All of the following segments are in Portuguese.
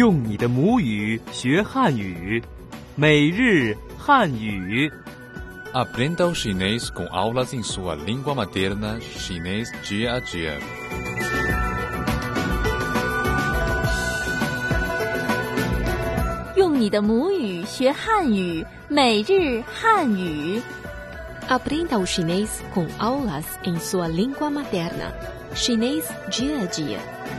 用你的母语学汉语，每日汉语。 Aprenda o chinês com aulas em sua língua materna, chinês dia a dia. 用你的母语学汉语，每日汉语。 Aprenda o chinês com aulas em sua língua materna, chinês dia a dia.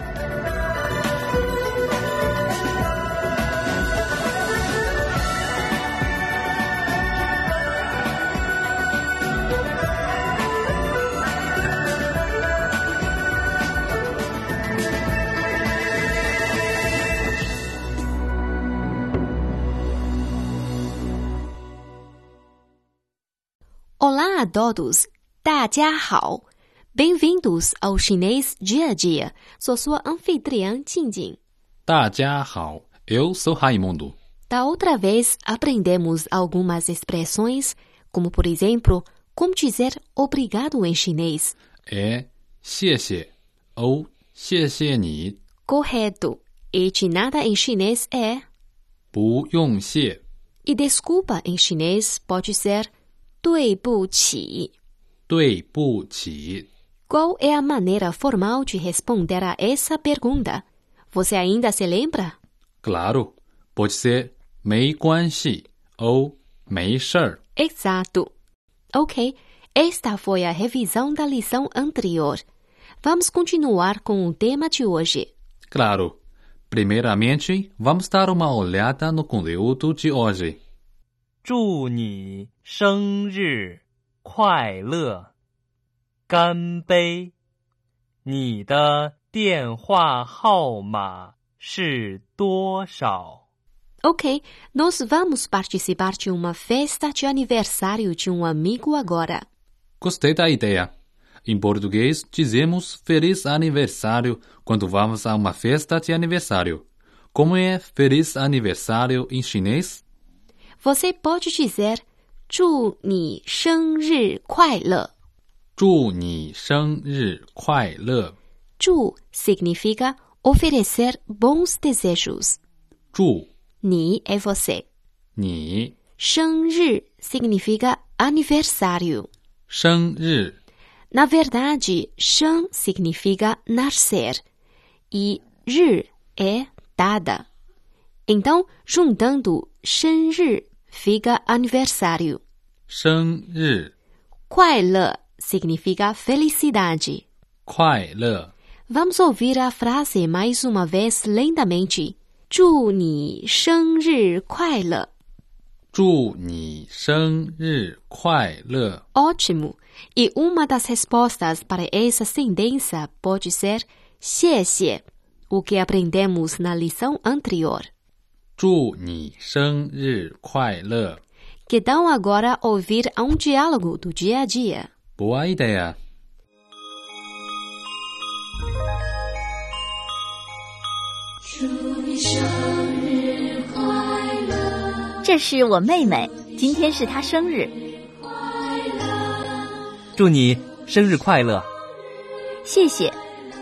Olá a todos, 大家好 Bem-vindos ao Chinês Dia a Dia. Sou sua anfitriã, Jingjing. 大家好, eu sou Raimundo. Da outra vez, aprendemos algumas expressões, como por exemplo, como dizer obrigado em chinês. É 谢谢 ou 谢谢你. Correto. E de nada em chinês é 不用谢. E desculpa em chinês pode ser 对不起. 对不起. Qual é a maneira formal de responder a essa pergunta? Você ainda se lembra? Claro, pode ser 没关系 ou 没事儿. Exato. Ok, esta foi a revisão da lição anterior. Vamos continuar com o tema de hoje. Claro. Primeiramente, vamos dar uma olhada no conteúdo de hoje. 祝你生日快乐，干杯！你的电话号码是多少？ Ok, nós vamos participar de uma festa de aniversário de um amigo agora. Gostei da ideia. Em português, dizemos Feliz Aniversário quando vamos a uma festa de aniversário. Como é Feliz Aniversário em chinês? Você pode dizer 祝你生日快乐. 祝你生日快乐. 祝 significa oferecer bons desejos. 祝你 é você. 你生日 significa aniversário. 生日 Na verdade, 生 significa nascer e 日 é data. Então, juntando 生日 fica aniversário. 生日快乐 significa felicidade. 快乐 Vamos ouvir a frase mais uma vez lentamente. 祝你生日快乐. 祝你生日快乐. Ótimo! E uma das respostas para essa sentença pode ser 谢谢, o que aprendemos na lição anterior. 祝你生日快乐. Que tal agora ouvir um diálogo do dia a dia? Boa ideia. 祝你生日快乐！这是我妹妹，今天是她生日。 祝你生日快乐！ 谢谢。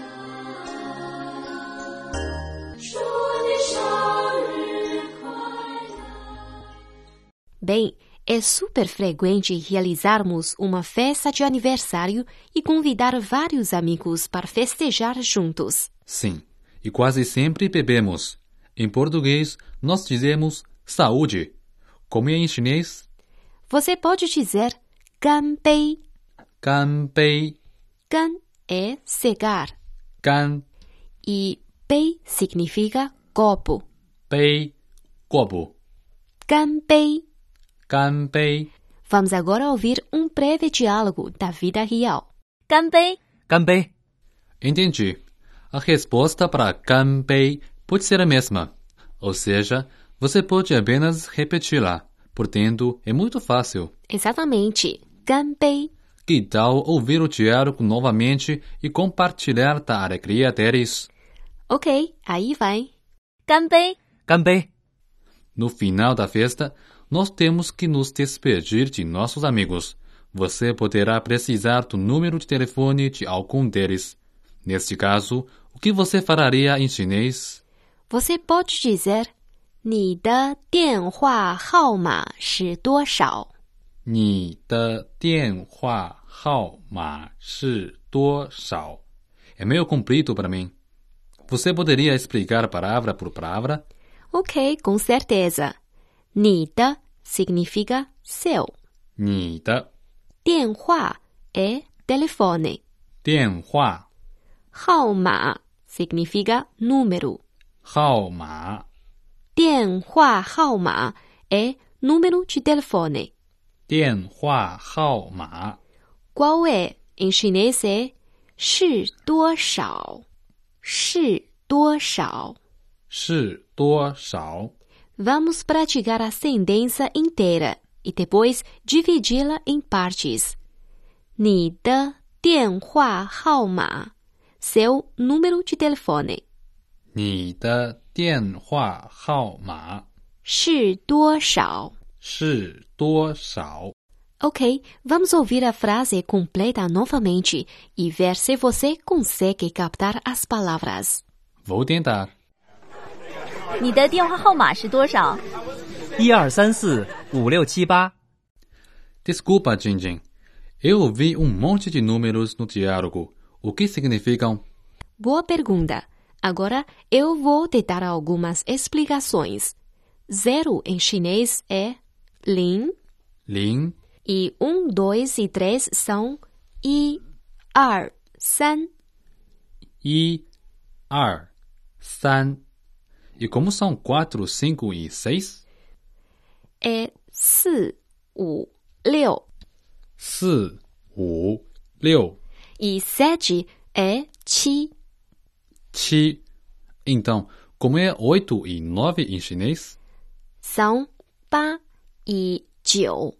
Bem, é super frequente realizarmos uma festa de aniversário e convidar vários amigos para festejar juntos. Sim, e quase sempre bebemos. Em português, nós dizemos saúde. Como é em chinês? Você pode dizer 干杯. 干杯. 干 é cegar. 干 E 杯 significa copo. 杯 copo. 干杯. 干杯. Vamos agora ouvir um breve diálogo da vida real. 干杯！ 干杯！ Entendi. A resposta para 干杯 pode ser a mesma. Ou seja, você pode apenas repeti-la. Portanto, é muito fácil. Exatamente. 干杯. Que tal ouvir o diálogo novamente e compartilhar da alegria deles? Ok, aí vai. 干杯！ 干杯！ No final da festa, nós temos que nos despedir de nossos amigos. Você poderá precisar do número de telefone de algum deles. Neste caso, o que você faria em chinês? Você pode dizer 你的电话号码是多少？ 你的电话号码是多少？ É meio comprido para mim. Você poderia explicar palavra por palavra? Ok, com certeza. 你的 significa seu. 你的电话 é telefone. 电话号码 significa número. 号码电话号码 é número de telefone. 电话号码 Qual é em chinês é 是多少？是多少？ 是多少？ Vamos praticar a sentença inteira e depois dividi-la em partes. 你的电话号码 seu número de telefone. 你的电话号码是多少？ 是多少？ Ok, vamos ouvir a frase completa novamente e ver se você consegue captar as palavras. Vou tentar. 你的电话号码是多少 ？12345678。 Desculpa, Jinjin. Eu ouvi monte de números no diálogo. O que significam? Boa pergunta. Agora eu vou te dar algumas explicações. 0 em chinês é lin. Lin. E 1, 2 e 3 são 1, 2, 3. 1, 2, 3. E como são 4, 5 e 6? É 4, 5, 6. 4, 5, 6. E 7 é 7. 7. Então, como é 8 e 9 em chinês? São 8 e 9.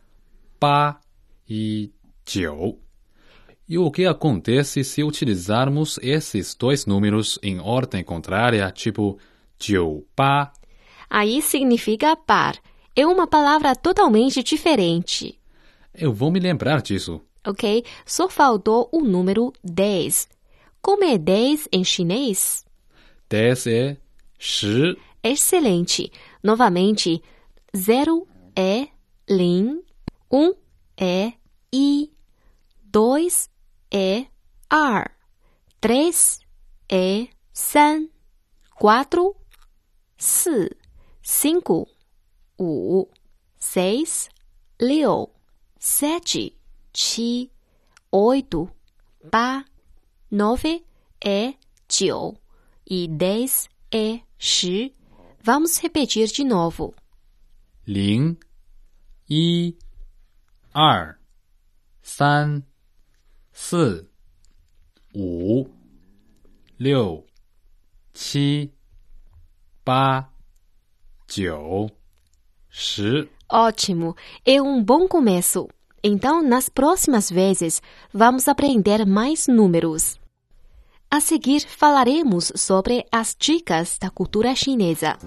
8 e 9. E o que acontece se utilizarmos esses dois números em ordem contrária, tipo 9, 8? Aí significa par. É uma palavra totalmente diferente. Eu vou me lembrar disso. Ok? Só faltou o número 10. Como é 10 em chinês? 10 é 10. Excelente. Novamente, 0 é lin, 1 é i, 2 é ar, 3 é 3, 4, 4, 5, 5, 6, 6, 7, 7, 8, 8, 9 é 9 e 10 é 10. Vamos repetir de novo. 0, 1, 2, 3, 4, 5, 6, 7, 8, 9, 10. Ótimo! É um bom começo. Então, nas próximas vezes, vamos aprender mais números. A seguir, falaremos sobre as dicas da cultura chinesa.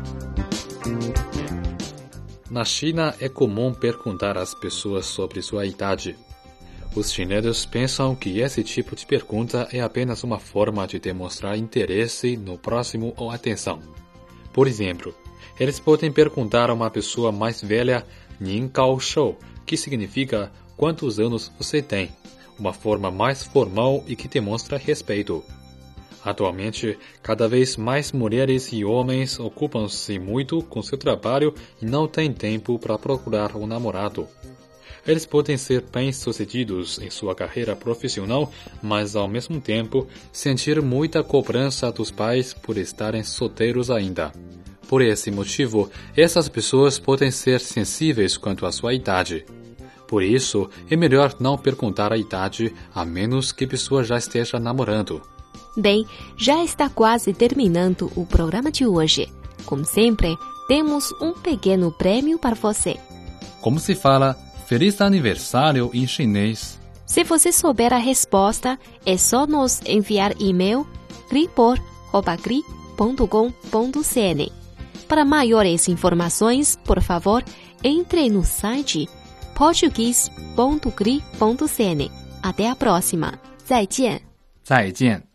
Na China, é comum perguntar às pessoas sobre sua idade. Os chineses pensam que esse tipo de pergunta é apenas uma forma de demonstrar interesse no próximo ou atenção. Por exemplo, eles podem perguntar a uma pessoa mais velha Nin Gao Shou, que significa quantos anos você tem, uma forma mais formal e que demonstra respeito. Atualmente, cada vez mais mulheres e homens ocupam-se muito com seu trabalho e não têm tempo para procurar um namorado. Eles podem ser bem-sucedidos em sua carreira profissional, mas ao mesmo tempo sentir muita cobrança dos pais por estarem solteiros ainda. Por esse motivo, essas pessoas podem ser sensíveis quanto à sua idade. Por isso, é melhor não perguntar a idade, a menos que a pessoa já esteja namorando. Bem, já está quase terminando o programa de hoje. Como sempre, temos um pequeno prêmio para você. Como se fala Feliz Aniversário em chinês? Se você souber a resposta, é só nos enviar e-mail cripor@cri.com.cn. Para maiores informações, por favor, entre no site português.cri.cn. Até a próxima. 再见. 再见.